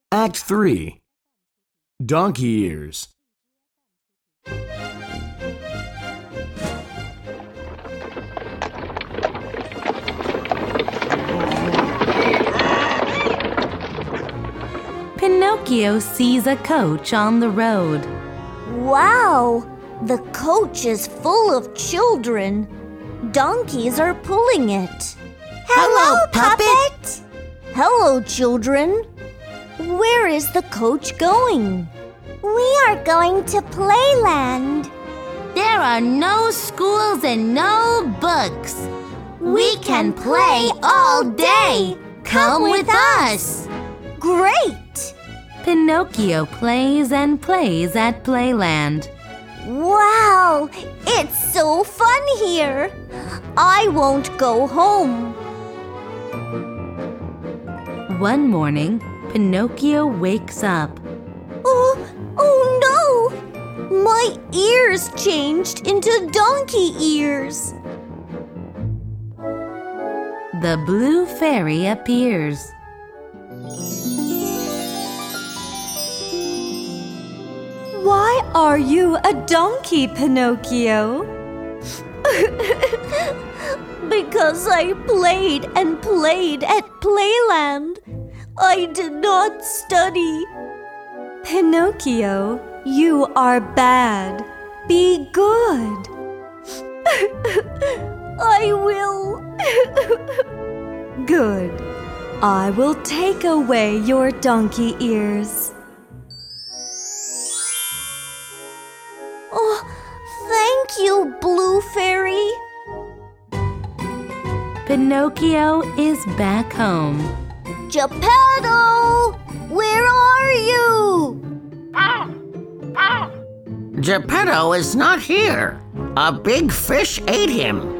Act 3. Donkey Ears. Pinocchio sees a coach on the road. Wow! The coach is full of children. Donkeys are pulling it. Hello, Puppet! Hello, children. Where is the coach going? We are going to Playland. There are no schools and no books. We can play all day. Come with us. Great! Pinocchio plays and plays at Playland. Wow! It's so fun here. I won't go home. One morning, Pinocchio wakes up. Oh no! My ears changed into donkey ears. The blue fairy appears. Why are you a donkey, Pinocchio? Because I played and played at Playland. I did not study. Pinocchio, you are bad. Be good. I will. Good. I will take away your donkey ears. Oh, thank you, Blue Fairy. Pinocchio is back home. Geppetto, where are you? Geppetto is not here. A big fish ate him.